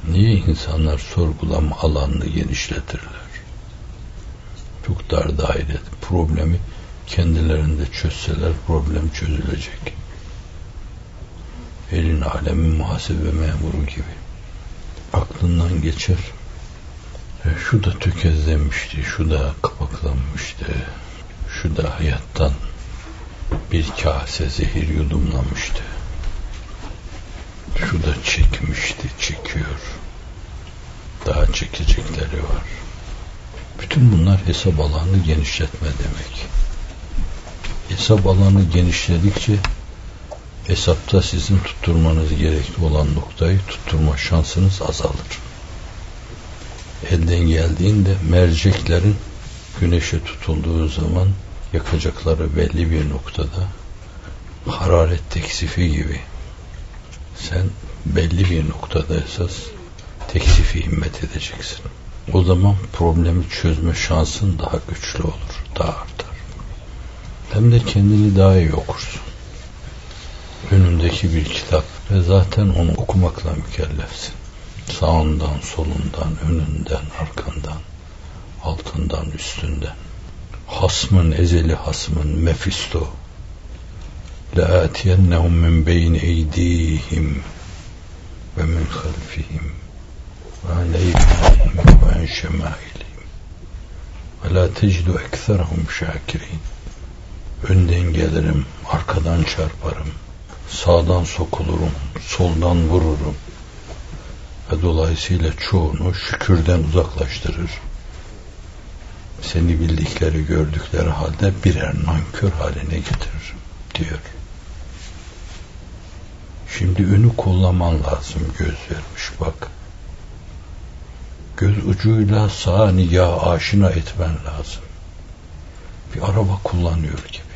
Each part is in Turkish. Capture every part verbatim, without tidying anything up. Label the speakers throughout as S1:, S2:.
S1: Niye insanlar sorgulama alanını genişletirler? Çok dar daire problemi kendilerinde çözseler problem çözülecek. Elin alemin muhasebe memuru gibi. Aklından geçer. E, şu da tökezlenmişti, şu da kapaklanmıştı, şu da hayattan bir kase zehir yudumlamıştı. Şu da çekmişti, çekiyor. Daha çekecekleri var. Bütün bunlar hesap alanını genişletme demek. Hesap alanı genişledikçe hesapta sizin tutturmanız gerekli olan noktayı tutturma şansınız azalır. Elden geldiğinde merceklerin güneşe tutulduğu zaman yakacakları belli bir noktada hararet teksifi gibi sen belli bir noktada esas teksifi himmet edeceksin. O zaman problemi çözme şansın daha güçlü olur, daha artar. Hem de kendini daha iyi okursun. Önündeki bir kitap ve zaten onu okumakla mükellefsin. Sağından, solundan, önünden, arkandan, altından, üstünden. Hasmın, ezeli hasmın, Mefisto. لَآتِيَنَّهُمْ مِنْ بَيْنِ اَيْدِيهِمْ وَمِنْ خَلْفِهِمْ وَعَنْ اَيْمَانِهِمْ وَعَنْ شَمَائِلِهِمْ وَلَا تَجِدُ اَكْثَرَهُمْ شَاكِرِينَ. Önden gelirim, arkadan çarparım, sağdan sokulurum, soldan vururum ve dolayısıyla çoğunu şükürden uzaklaştırır. Seni bildikleri, gördükleri halde birer nankör haline getiririm diyor. Şimdi önü kollaman lazım, göz vermiş bak. Göz ucuyla sağa nigah aşina etmen lazım. Bir araba kullanıyor gibi.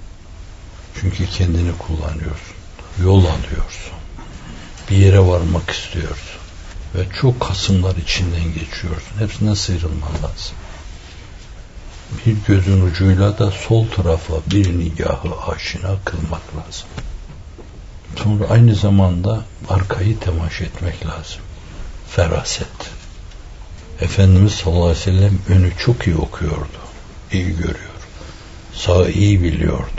S1: Çünkü kendini kullanıyorsun. Yol alıyorsun. Bir yere varmak istiyorsun. Ve çok kasımlar içinden geçiyorsun. Hepsinden sıyrılman lazım. Bir gözün ucuyla da sol tarafa bir nigahı aşina kılmak lazım. Sonra aynı zamanda arkayı temaşa etmek lazım. Feraset. Efendimiz sallallahu aleyhi ve sellem önü çok iyi okuyordu. İyi görüyor. Sağı iyi biliyordu.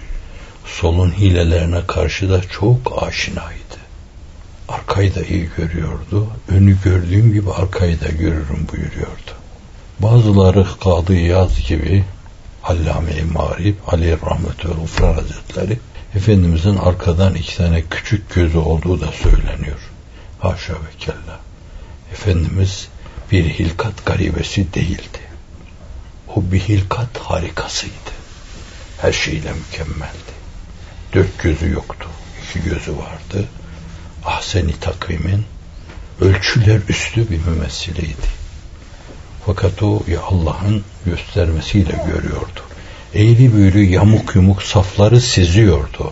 S1: Solun hilelerine karşı da çok aşinaydı. Arkayı da iyi görüyordu. Önü gördüğüm gibi arkayı da görürüm buyuruyordu. Bazıları Kadı İyaz gibi Allame-i Mağrib Ali Rahmetü Ufran Hazretleri Efendimizin arkadan iki tane küçük gözü olduğu da söyleniyor. Haşa ve kella. Efendimiz bir hilkat garibesi değildi. O bir hilkat harikasıydı. Her şeyle mükemmeldi. Dört gözü yoktu. İki gözü vardı. Ahsen-i takvimin ölçüler üstü bir mümessiliydi. Fakat o ya Allah'ın göstermesiyle görüyordu. Eğri büğrü yamuk yumuk safları seziyordu.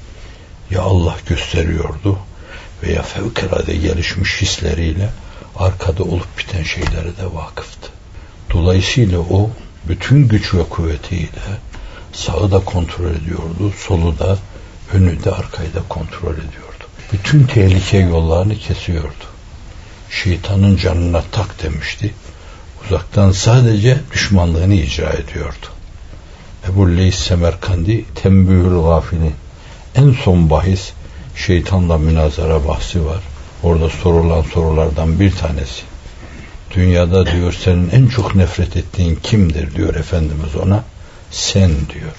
S1: Ya Allah gösteriyordu veya fevkalade gelişmiş hisleriyle arkada olup biten şeylere de vakıftı. Dolayısıyla o bütün güç ve kuvvetiyle sağı da kontrol ediyordu, solu da, önü de, arkayı da kontrol ediyordu. Bütün tehlike yollarını kesiyordu. Şeytanın canına tak demişti. Uzaktan sadece düşmanlığını icra ediyordu. Ebu Leys Semerkandi Tembühül Gafilin en son bahis şeytanla münazara bahsi var. Orada sorulan sorulardan bir tanesi. Dünyada diyor senin en çok nefret ettiğin kimdir diyor Efendimiz ona. Sen diyor.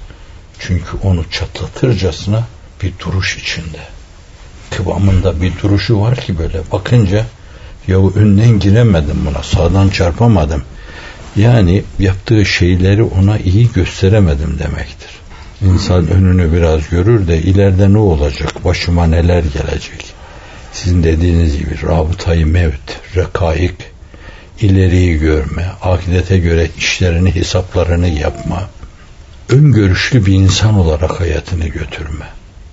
S1: Çünkü onu çatlatırcasına bir duruş içinde. Kıvamında bir duruşu var ki böyle bakınca yahu önden giremedim buna, sağdan çarpamadım. Yani yaptığı şeyleri ona iyi gösteremedim demektir. İnsan önünü biraz görür de ileride ne olacak, başıma neler gelecek. Sizin dediğiniz gibi rabıtayı mevt, rekaik, ileriyi görme, ahirete göre işlerini, hesaplarını yapma, öngörüşlü bir insan olarak hayatını götürme.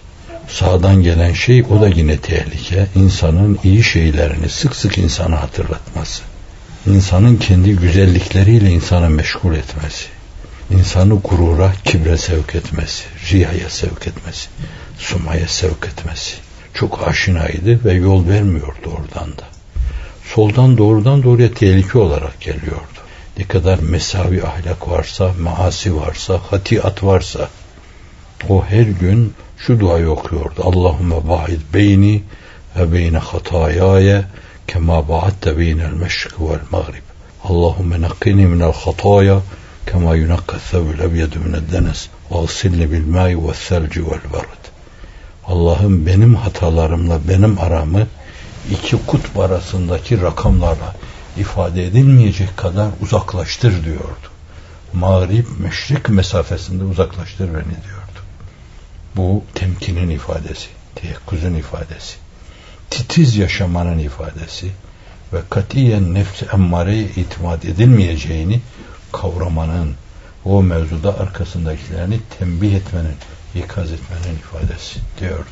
S1: Sağdan gelen şey o da yine tehlike. İnsanın iyi şeylerini sık sık insana hatırlatması. İnsanın kendi güzellikleriyle insanı meşgul etmesi. İnsanı gurura, kibre sevk etmesi. Riyaya sevk etmesi. Sumaya sevk etmesi. Çok aşinaydı ve yol vermiyordu oradan da. soldan doğrudan doğruya tehlike olarak geliyordu. Ne kadar mesavi ahlak varsa, maasi varsa, hatiat varsa o her gün şu duayı okuyordu. Allahümme ba'id beyni ve beyne hatayaya kema ba'atte beynel meşrik vel mağrib. Allahümme nakkini minel hataya kema yunakka thevül ebyedu minel denes ve agsilni bil ma'i ve selci vel barad. Allah'ım benim hatalarımla benim aramı iki kutb arasındaki rakamlarla ifade edilmeyecek kadar uzaklaştır diyordu. Mağrib, meşrik mesafesinde uzaklaştır beni diyordu. Bu temkinin ifadesi, teyakkuzun ifadesi, titiz yaşamanın ifadesi ve katiyen nefs-i emmareye itimat edilmeyeceğini kavramanın, o mevzuda arkasındakilerini tembih etmenin, ikaz etmenin ifadesi diyordu.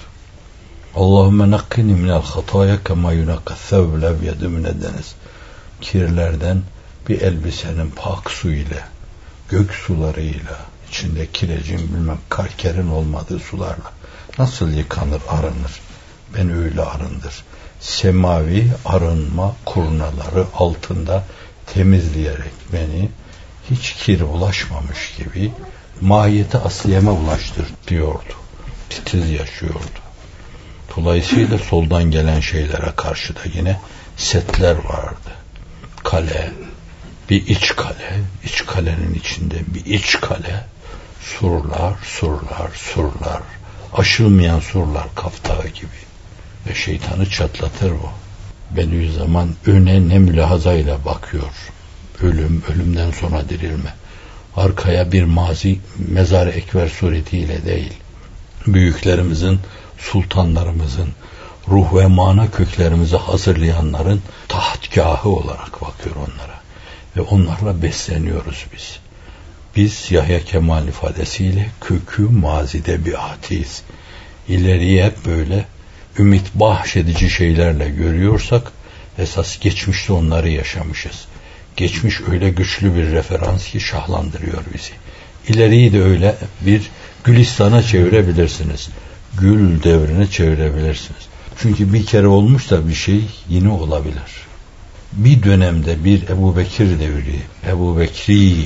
S1: Allahümme nakkini minel hataya kema yunakka thevbül ebyedu minel deniz. Kirlerden bir elbisenin pak su ile, gök sularıyla, içinde kirecin bilmem karkerin olmadığı sularla nasıl yıkanır, arınır? Ben öyle arındır. Semavi arınma kurnaları altında temizleyerek beni hiç kir ulaşmamış gibi mahiyete asliyeme ulaştır diyordu. Titiz yaşıyordu. Dolayısıyla soldan gelen şeylere karşı da yine setler vardı. Kale, bir iç kale, iç kalenin içinde bir iç kale, surlar, surlar, surlar, aşılmayan surlar Kaftağı gibi. Ve şeytanı çatlatır o. Bediüzzaman öne ne mülahazayla bakıyor. Ölüm, ölümden sonra dirilme. Arkaya bir mazi mezar-ı ekber suretiyle değil. Büyüklerimizin, sultanlarımızın, ruh ve mana köklerimizi hazırlayanların tahtgahı olarak bakıyor onlara. Ve onlarla besleniyoruz biz. Biz Yahya Kemal ifadesiyle kökü mazide biatiyiz. İleriye hep böyle ümit bahşedici şeylerle görüyorsak esas geçmişte onları yaşamışız. Geçmiş öyle güçlü bir referans ki şahlandırıyor bizi. İleriyi de öyle bir Gülistan'a çevirebilirsiniz. Gül devrine çevirebilirsiniz. Çünkü bir kere olmuş da bir şey yine olabilir. Bir dönemde bir Ebu Bekir devri, Ebu Bekri,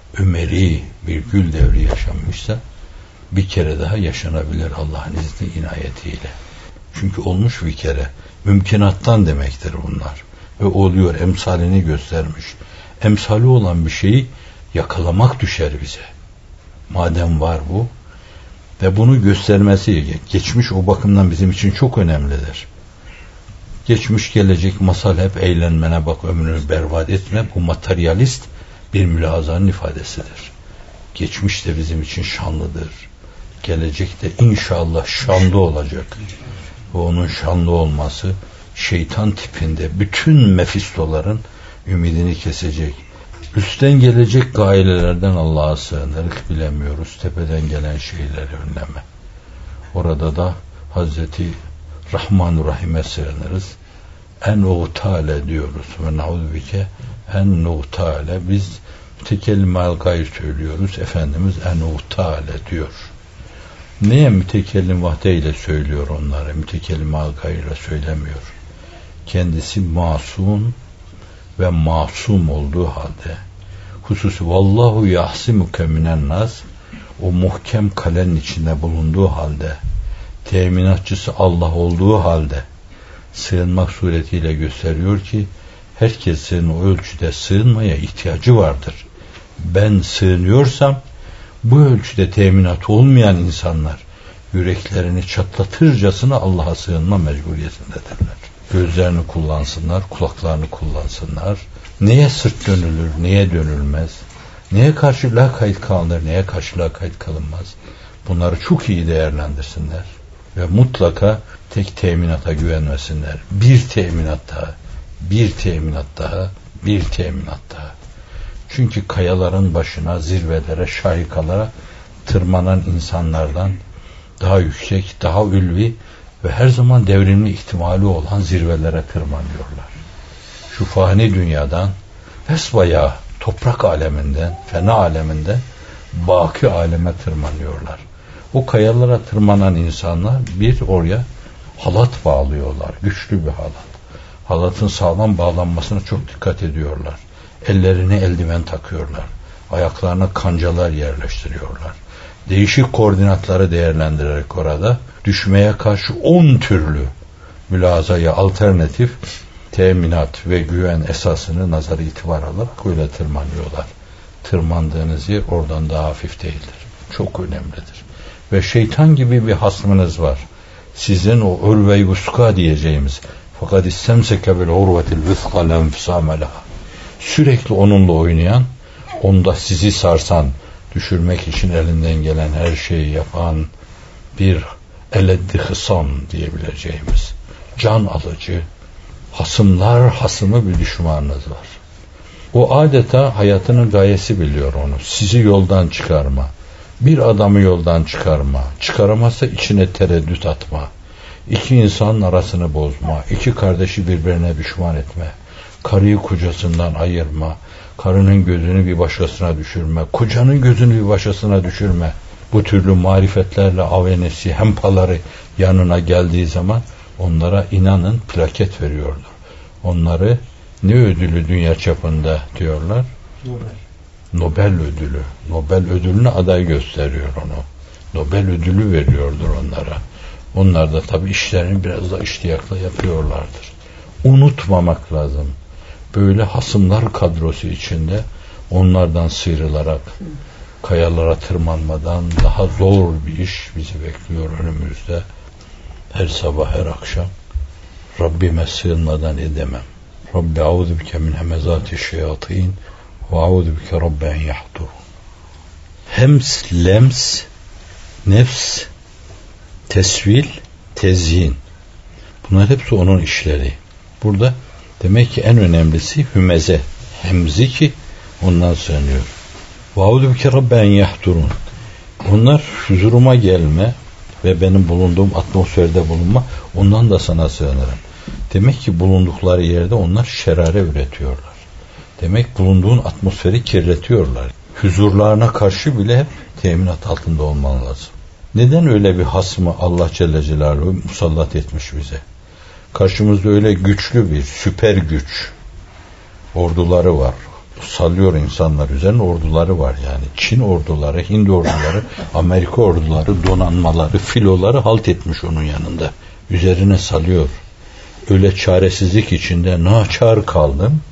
S1: Ömeri bir gül devri yaşanmışsa bir kere daha yaşanabilir Allah'ın izni inayetiyle. Çünkü olmuş bir kere. Mümkünattan demektir bunlar. Ve oluyor, emsalini göstermiş. Emsali olan bir şeyi yakalamak düşer bize. Madem var bu ve bunu göstermesi, geçmiş o bakımdan bizim için çok önemlidir. Geçmiş gelecek masal hep eğlenmene bak, ömrünü berbat etme. Bu materyalist bir mülahazanın ifadesidir. Geçmiş de bizim için şanlıdır. Gelecek de inşallah şanlı olacak. Ve onun şanlı olması şeytan tipinde bütün mefistoların ümidini kesecek. Üstten gelecek gailelerden Allah'a sığınırız, bilemiyoruz. Tepeden gelen şeyleri önleme. Orada da Hazreti Rahman-ı Rahim'e sığınırız. En uğtale diyoruz. Ve naudubike en uğtale. Biz mütekellim al-gayr söylüyoruz. Efendimiz en uğtale diyor. Neye mütekellim vahdeyle söylüyor onları? Mütekellim al-gayr'la söylemiyor. Kendisi masum ve masum olduğu halde, hususi vallahu yahsimuke minen nas, o muhkem kalenin içinde bulunduğu halde, teminatçısı Allah olduğu halde sığınmak suretiyle gösteriyor ki herkesin o ölçüde sığınmaya ihtiyacı vardır. Ben sığınıyorsam bu ölçüde teminat olmayan insanlar yüreklerini çatlatırcasına Allah'a sığınma mecburiyetindedirler. Gözlerini kullansınlar, kulaklarını kullansınlar. Neye sırt dönülür, neye dönülmez, neye karşı lakayt kalınır, neye karşı lakayt kalınmaz. Bunları çok iyi değerlendirsinler ve mutlaka tek teminata güvenmesinler. Bir teminat daha, bir teminat daha, bir teminat daha. Çünkü kayaların başına, zirvelere, şahikalara tırmanan insanlardan daha yüksek, daha ulvi ve her zaman devrimli ihtimali olan zirvelere tırmanıyorlar. Şu fani dünyadan, vesbaya toprak aleminden, fena aleminden baki aleme tırmanıyorlar. O kayalara tırmanan insanlar bir oraya halat bağlıyorlar, güçlü bir halat. Halatın sağlam bağlanmasına çok dikkat ediyorlar. Ellerine eldiven takıyorlar. Ayaklarına kancalar yerleştiriyorlar. Değişik koordinatları değerlendirerek orada düşmeye karşı on türlü mülazaya alternatif teminat ve güven esasını nazar itibar alarak öyle tırmanıyorlar. Tırmandığınız yer oradan daha hafif değildir. Çok önemlidir. Ve şeytan gibi bir hasmınız var. Sizin o urve-i vuska diyeceğimiz fakat istemseke bil urvetil vüska lenfisame leha. Sürekli onunla oynayan, onda sizi sarsan, düşürmek için elinden gelen her şeyi yapan bir eleddi hısam diyebileceğimiz can alıcı, hasımlar hasımı bir düşmanınız var. O adeta hayatının gayesi biliyor onu. Sizi yoldan çıkarma. Bir adamı yoldan çıkarma. Çıkaramazsa içine tereddüt atma. İki insanın arasını bozma. İki kardeşi birbirine düşman etme. Karıyı kocasından ayırma. Karının gözünü bir başkasına düşürme. Kocanın gözünü bir başkasına düşürme. Bu türlü marifetlerle avenesi, hempaları yanına geldiği zaman onlara inanın plaket veriyordur. Onları ne ödülü dünya çapında diyorlar? Nobel. Nobel ödülü. Nobel ödülüne aday gösteriyor onu. Nobel ödülü veriyordur onlara. Onlar da tabii işlerini biraz da iştiyakla yapıyorlardır. Unutmamak lazım. Böyle hasımlar kadrosu içinde onlardan sıyrılarak kayalara tırmanmadan daha zor bir iş bizi bekliyor önümüzde. Her sabah her akşam Rabbime sığınmadan edemem. Rabbi a'udhu bike min hemezati şeyatin ve a'udhu bike Rabbi en yahdur. Hems, lems, nefs, tesvil, tezyin. Bunlar hepsi onun işleri. Burada demek ki en önemlisi hümeze. Hemzi ki ondan sığınıyor. Ve a'udhu bike Rabbi en yahdurun. Onlar huzuruma gelme ve benim bulunduğum atmosferde bulunma, ondan da sana sığınırım. Demek ki bulundukları yerde onlar şerare üretiyorlar. Demek bulunduğun atmosferi kirletiyorlar. Huzurlarına karşı bile hep teminat altında olman lazım. Neden öyle bir hasmı Allah Celle Celaluhu musallat etmiş bize? Karşımızda öyle güçlü bir süper güç orduları var. Sallıyor insanlar üzerine, orduları var yani. Çin orduları, Hind orduları, Amerika orduları, donanmaları, filoları halt etmiş onun yanında. Üzerine salıyor. Öyle çaresizlik içinde naçar kaldım.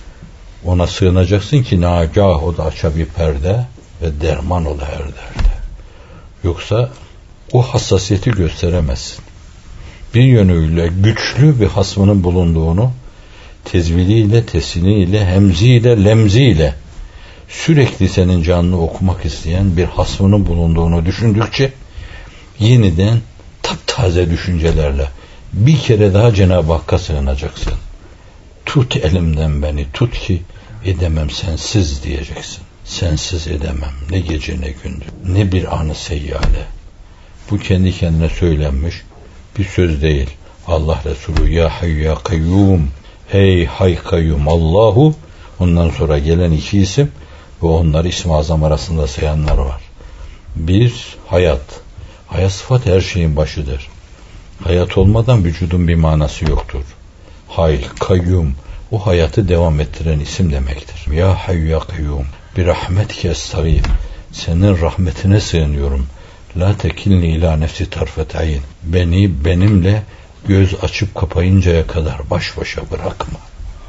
S1: Ona sığınacaksın ki nagah o da aça bir perde ve derman ola her derde. Yoksa o hassasiyeti gösteremezsin. Bir yönüyle güçlü bir hasmının bulunduğunu tezviliyle, tesiniyle, hemziyle, lemziyle sürekli senin canını okumak isteyen bir hasmının bulunduğunu düşündükçe yeniden taptaze düşüncelerle bir kere daha Cenab-ı Hakk'a sığınacaksın. Tut elimden beni, tut ki edemem sensiz diyeceksin. Sensiz edemem. Ne gece ne gündüz. Ne bir anı seyyale. Bu kendi kendine söylenmiş bir söz değil. Allah Resulü ya hayy ya kayyum, ey hay kayyum Allahu, ondan sonra gelen iki isim ve onlar İsm-i Azam arasında sayanlar var. Bir, hayat. Hayat sıfat her şeyin başıdır. Hayat olmadan vücudun bir manası yoktur. Hay, kayyum, o hayatı devam ettiren isim demektir. Ya hayy ya kayyum, bir rahmetke estağîth, senin rahmetine sığınıyorum. La tekilni ila nefsi tarfet ayn, beni benimle göz açıp kapayıncaya kadar baş başa bırakma.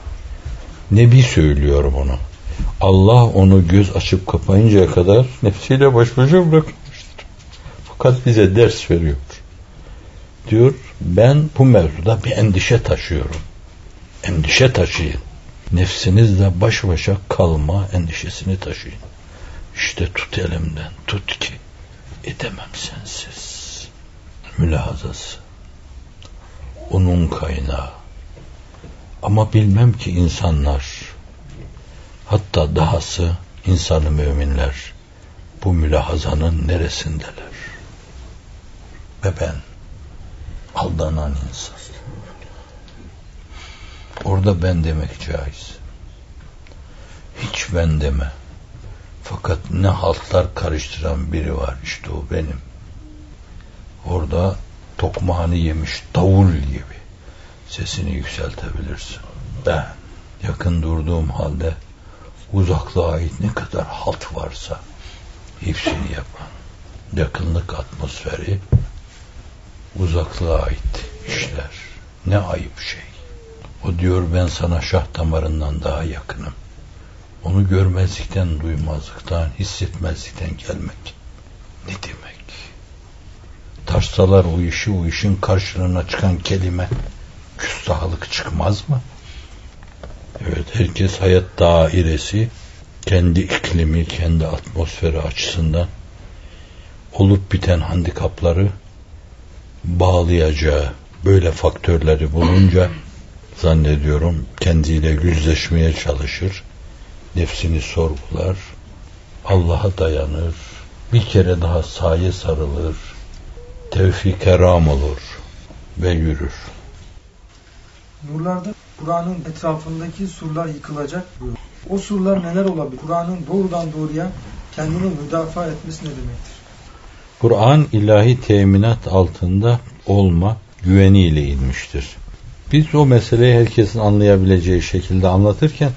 S1: Nebi söylüyor bunu. Allah onu göz açıp kapayıncaya kadar nefsiyle baş başa bırakmıştır. Fakat bize ders veriyor. Diyor, ben bu mevzuda bir endişe taşıyorum. Endişe taşıyın. Nefsinizle baş başa kalma endişesini taşıyın. İşte tut elimden, tut ki edemem sensiz. Mülahazası. Onun kaynağı. Ama bilmem ki insanlar, hatta dahası insan-ı müminler bu mülahazanın neresindeler? Ve ben aldanan insan. Orada ben demek caiz. Hiç ben deme. Fakat ne haltlar karıştıran biri var, işte o benim. Orada tokmağını yemiş davul gibi sesini yükseltebilirsin. Ben yakın durduğum halde uzaklığa ait ne kadar halt varsa hepsini yapan yakınlık atmosferi uzaklığa ait işler. Ne ayıp şey. O diyor ben sana şah damarından daha yakınım. Onu görmezlikten, duymazlıktan, hissetmezlikten gelmek ne demek? Taşsalar o işi, o işin karşılığına çıkan kelime küstahlık çıkmaz mı? Evet, herkes hayat dairesi kendi iklimi, kendi atmosferi açısından olup biten handikapları bağlayacağı böyle faktörleri bulunca zannediyorum kendiyle yüzleşmeye çalışır, nefsini sorgular, Allah'a dayanır, bir kere daha saye sarılır, tevfik-e ram olur ve yürür.
S2: Nurlarda Kur'an'ın etrafındaki surlar yıkılacak diyor. O surlar neler olabilir? Kur'an'ın doğrudan doğruya kendini müdafaa etmesi ne demektir?
S1: Kur'an ilahi teminat altında olma güveniyle inmiştir. Biz o meseleyi herkesin anlayabileceği şekilde anlatırken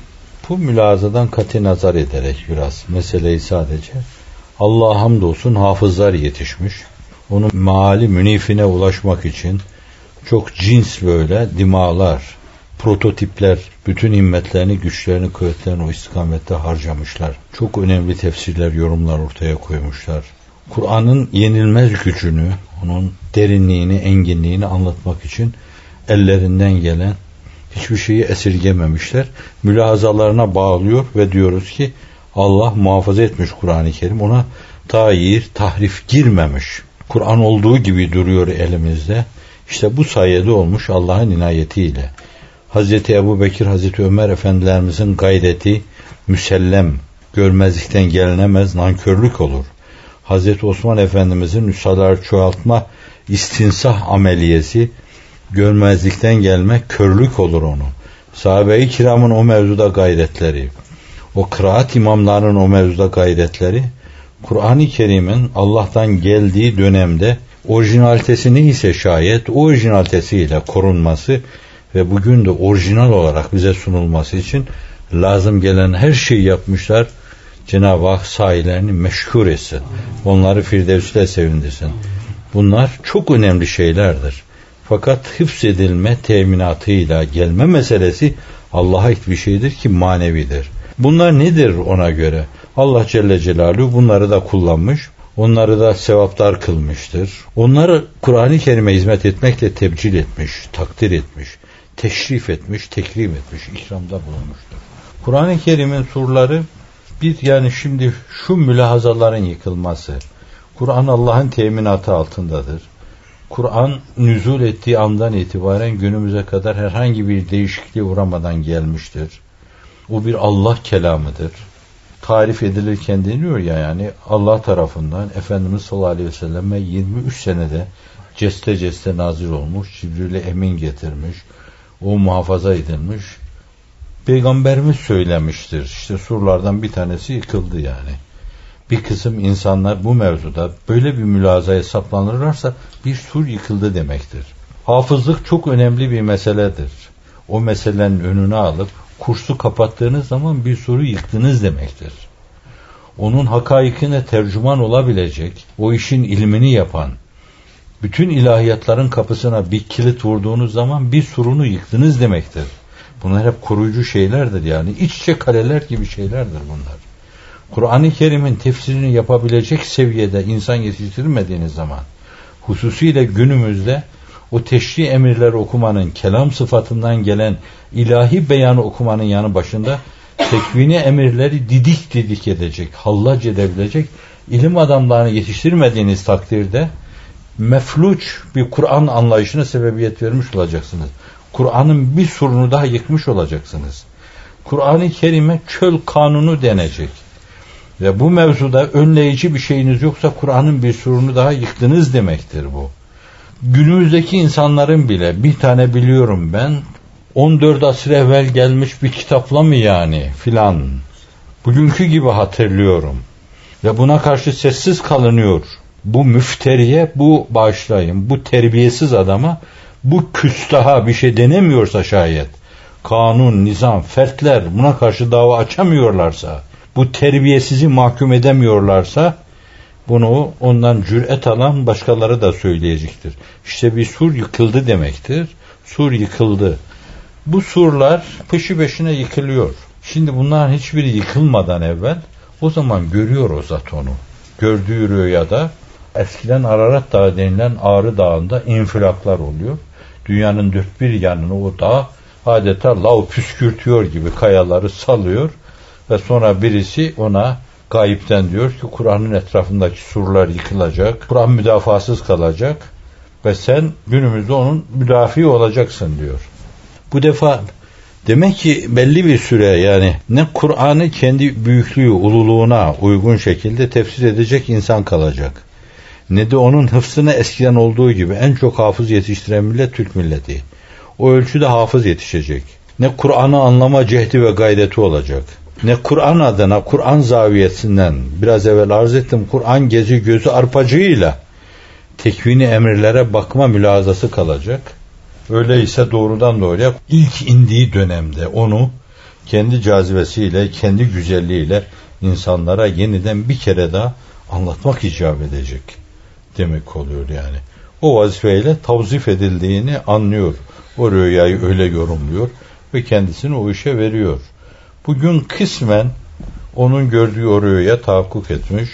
S1: bu mülazadan kati nazar ederek biraz meseleyi sadece Allah'a hamdolsun hafızlar yetişmiş. Onun meali münifine ulaşmak için çok cins böyle dimalar, prototipler, bütün himmetlerini, güçlerini, kuvvetlerini o istikamette harcamışlar. Çok önemli tefsirler, yorumlar ortaya koymuşlar. Kur'an'ın yenilmez gücünü, onun derinliğini, enginliğini anlatmak için ellerinden gelen hiçbir şeyi esirgememişler. Mülahazalarına bağlıyor ve diyoruz ki Allah muhafaza etmiş Kur'an-ı Kerim. Ona tayir, tahrif girmemiş. Kur'an olduğu gibi duruyor elimizde. İşte bu sayede olmuş Allah'ın inayetiyle. Hazreti Ebu Bekir, Hazreti Ömer efendilerimizin gayreti müsellem, görmezlikten gelinemez nankörlük olur. Hazreti Osman Efendimizin nüshalar çoğaltma istinsah ameliyesi görmezlikten gelmek körlük olur onu. Sahabe-i kiramın o mevzuda gayretleri, o kıraat imamlarının o mevzuda gayretleri, Kur'an-ı Kerim'in Allah'tan geldiği dönemde orijinalitesi neyse şayet o orijinalitesiyle korunması ve bugün de orijinal olarak bize sunulması için lazım gelen her şeyi yapmışlar. Cenab-ı Hak sahilerini meşhur etsin. Onları Firdevs'te sevindirsin. Bunlar çok önemli şeylerdir. Fakat hıfzedilme teminatıyla gelme meselesi Allah'a ait bir şeydir ki manevidir. Bunlar nedir ona göre? Allah Celle Celaluhu bunları da kullanmış. Onları da sevaptar kılmıştır. Onları Kur'an-ı Kerim'e hizmet etmekle tebcil etmiş, takdir etmiş, teşrif etmiş, tekrim etmiş, ikramda bulunmuştur. Kur'an-ı Kerim'in surları bir yani şimdi şu mülahazaların yıkılması. Kur'an Allah'ın teminatı altındadır. Kur'an nüzul ettiği andan itibaren günümüze kadar herhangi bir değişikliğe uğramadan gelmiştir. O bir Allah kelamıdır. Tarif edilirken deniyor ya yani Allah tarafından Efendimiz sallallahu aleyhi ve selleme yirmi üç senede ceste ceste nazil olmuş, Cibril'e emin getirmiş, o muhafaza edilmiş. Peygamberimiz söylemiştir. İşte surlardan bir tanesi yıkıldı yani. Bir kısım insanlar bu mevzuda böyle bir mülazaya saplanırlarsa bir sur yıkıldı demektir. Hafızlık çok önemli bir meseledir. O meselenin önüne alıp kursu kapattığınız zaman bir suru yıktınız demektir. Onun hakaikine tercüman olabilecek, o işin ilmini yapan, bütün ilahiyatların kapısına bir kilit vurduğunuz zaman bir surunu yıktınız demektir. Bunlar hep koruyucu şeylerdir yani. İç içe kaleler gibi şeylerdir bunlar. Kur'an-ı Kerim'in tefsirini yapabilecek seviyede insan yetiştirmediğiniz zaman, hususiyle günümüzde o teşri emirleri okumanın, kelam sıfatından gelen ilahi beyanı okumanın yanı başında tekvini emirleri didik didik edecek, hallac edebilecek ilim adamlarını yetiştirmediğiniz takdirde mefluç bir Kur'an anlayışına sebebiyet vermiş olacaksınız. Kur'an'ın bir surunu daha yıkmış olacaksınız. Kur'an-ı Kerim'e çöl kanunu denecek. Ve bu mevzuda önleyici bir şeyiniz yoksa Kur'an'ın bir surunu daha yıktınız demektir bu. Günümüzdeki insanların bile bir tane biliyorum ben on dört asır evvel gelmiş bir kitapla mı yani filan bugünkü gibi hatırlıyorum. Ve buna karşı sessiz kalınıyor. Bu müfteriye, bu bağışlayın, bu terbiyesiz adama bu küstaha bir şey denemiyorsa şayet, kanun, nizam, fertler buna karşı dava açamıyorlarsa, bu terbiyesizi mahkum edemiyorlarsa, bunu ondan cüret alan başkaları da söyleyecektir. İşte bir sur yıkıldı demektir. Sur yıkıldı. Bu surlar peşi peşine yıkılıyor. Şimdi bunların hiçbiri yıkılmadan evvel, o zaman görüyor o zat onu. Gördüğü rüyada eskiden Ararat Dağı denilen Ağrı Dağı'nda infilaklar oluyor. Dünyanın dört bir yanını o dağ adeta lav püskürtüyor gibi kayaları salıyor ve sonra birisi ona gayipten diyor ki Kur'an'ın etrafındaki surlar yıkılacak, Kur'an müdafasız kalacak ve sen günümüzde onun müdafi olacaksın diyor. Bu defa demek ki belli bir süre, yani ne Kur'an'ı kendi büyüklüğü, ululuğuna uygun şekilde tefsir edecek insan kalacak, ne de onun hıfzına eskiden olduğu gibi en çok hafız yetiştiren millet Türk milleti. O ölçüde hafız yetişecek. Ne Kur'an'ı anlama cehdi ve gayreti olacak, ne Kur'an adına, Kur'an zaviyesinden, biraz evvel arz ettim, Kur'an gezi gözü arpacığıyla tekvini emirlere bakma mülazası kalacak. Öyleyse doğrudan doğruya ilk indiği dönemde onu kendi cazibesiyle, kendi güzelliğiyle insanlara yeniden bir kere daha anlatmak icap edecek demek oluyor yani. O vazifeyle tavzif edildiğini anlıyor. O rüyayı öyle yorumluyor ve kendisini o işe veriyor. Bugün kısmen onun gördüğü o rüyaya tahakkuk etmiş.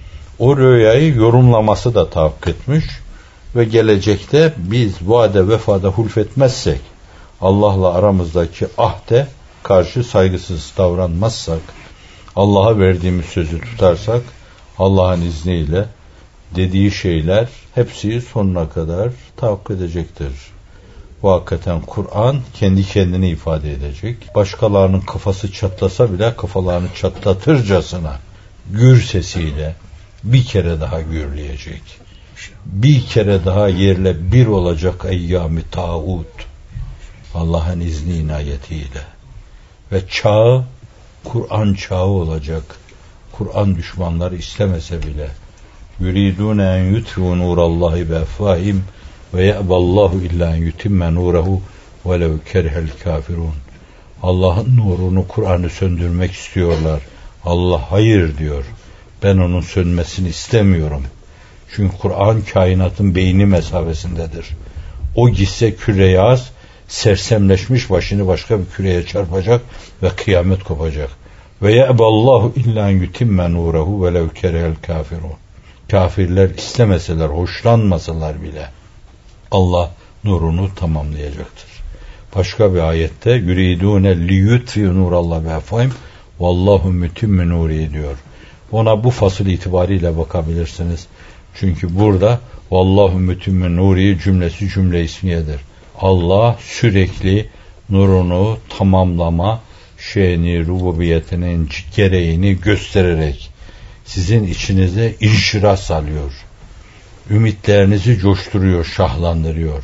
S1: O rüyayı yorumlaması da tahakkuk etmiş. Ve gelecekte biz vaade vefada hulfetmezsek, Allah'la aramızdaki ahde karşı saygısız davranmazsak, Allah'a verdiğimiz sözü tutarsak, Allah'ın izniyle dediği şeyler hepsi sonuna kadar tahakkuk edecektir. Bu hakikaten Kur'an kendi kendini ifade edecek. Başkalarının kafası çatlasa bile kafalarını çatlatırcasına gür sesiyle bir kere daha gürleyecek. Bir kere daha yerle bir olacak eyyam-ı tağut. Allah'ın izni inayetiyle. Ve çağı Kur'an çağı olacak. Kur'an düşmanları istemese bile. Yuridun en yutfu nurallahi bi afwahim ve ya'ballahu illa en yutimme nurehu velev kerihel kafirun. Allah'ın nurunu, Kur'an'ı söndürmek istiyorlar. Allah hayır diyor. Ben onun sönmesini istemiyorum. Çünkü Kur'an kainatın beyni mesabesindedir. O gitse küre az, sersemleşmiş başını başka bir küreye çarpacak ve kıyamet kopacak. Ve ye'ballahu illa yutimme nurehu velev kerehel kafirun. Kafirler istemeseler, hoşlanmasalar bile Allah nurunu tamamlayacaktır. Başka bir ayette yuridune liyutfi nurallah ve efahim vallahu mütimme nuri diyor. Ona bu fasıl itibariyle bakabilirsiniz. Çünkü burada vallahu mütimme nuri cümlesi cümle ismiyedir. Allah sürekli nurunu tamamlama şeyini, rububiyetinin gereğini göstererek sizin içinize inşirah salıyor. Ümitlerinizi coşturuyor, şahlandırıyor.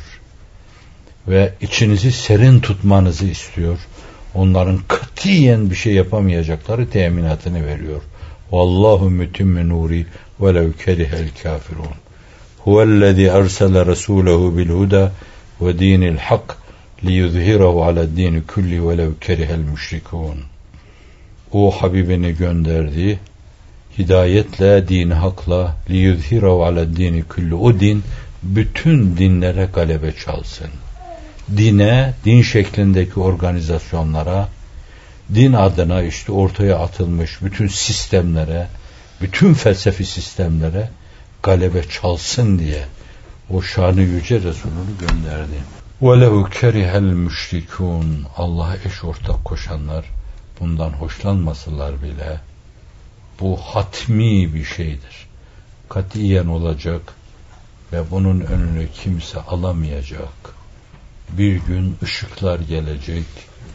S1: Ve içinizi serin tutmanızı istiyor. Onların katiyen bir şey yapamayacakları teminatını veriyor. Vallahu mütimme nuri velev kerihel kafirun. Huvellezî ersele resûlehu bil huda ve dînil hak liyuzhirahu ala'd-dîni kulli velev kerihel müşrikûn. O Habibini gönderdi, hidayetle, dini hakla, liyuzhirahu ala'd-dîni kulli. O din bütün dinlere galebe çalsın. Dine, din şeklindeki organizasyonlara, din adına işte ortaya atılmış bütün sistemlere, bütün felsefi sistemlere galebe çalsın diye o şanı yüce Resulünü gönderdi. وَلَوْ كَرِهَ الْمُشْرِكُونَ. Allah'a eş ortak koşanlar bundan hoşlanmasalar bile bu hatmi bir şeydir. Katiyen olacak ve bunun önünü kimse alamayacak. Bir gün ışıklar gelecek,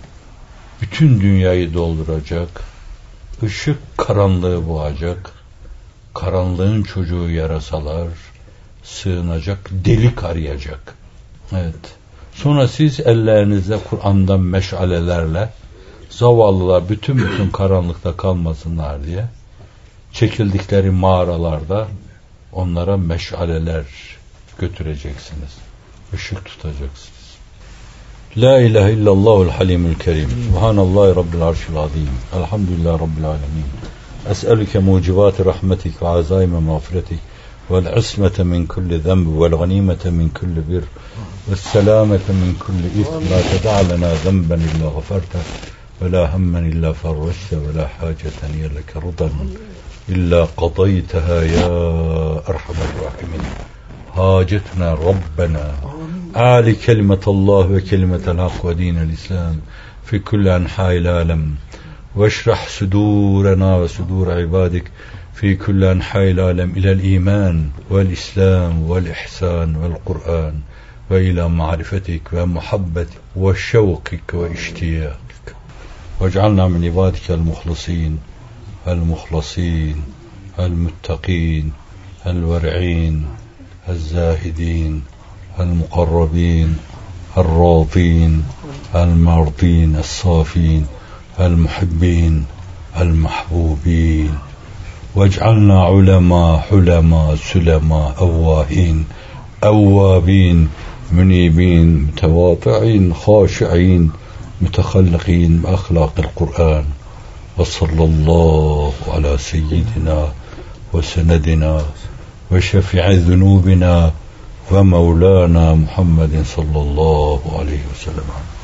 S1: bütün dünyayı dolduracak, ışık karanlığı boğacak, karanlığın çocuğu yarasalar, sığınacak, delik arayacak. Evet. Sonra siz ellerinizde Kur'an'dan meşalelerle zavallılar bütün bütün karanlıkta kalmasınlar diye çekildikleri mağaralarda onlara meşaleler götüreceksiniz. Işık tutacaksınız. La ilahe illallahul halimul kerim. Subhanallahi rabbil arşil azim. Elhamdülillahi rabbil alemin. Es'elüke mucibati rahmetik ve azaime mağfiretik vel ismete min kulli zenbi vel ganimete min kulli bir ve selamete min kulli ithm. La ted'a lena zenben illa gafarta ve la hammen illa farreşte ve la haceten yelleke rudan illa qadayteha ya erhamer rahimin. Hacetna Rabbena Ali kelimetallah ve kelimetel hak ve dinel İslam fi kulli enha'il alem ve eşrah sudurena ve sudur ibadik fi kulli enha'il alem ilel iman vel islam vel ihsan vel Kur'an ve ila ma'rifetik ve muhabbetik ve şevkik ve iştiyakik vec'alna min ibadikel muhlisin el muhlasin el muttaqin el ver'in الزاهدين المقربين الراضين المرضين الصافين المحبين المحبوبين واجعلنا علماء حلماء سلماء أواهين أوابين منيبين متواضعين خاشعين متخلقين بأخلاق القرآن وصلى الله على سيدنا وسندنا وشفيع ذنوبنا ومولانا محمد صلى الله عليه وسلم.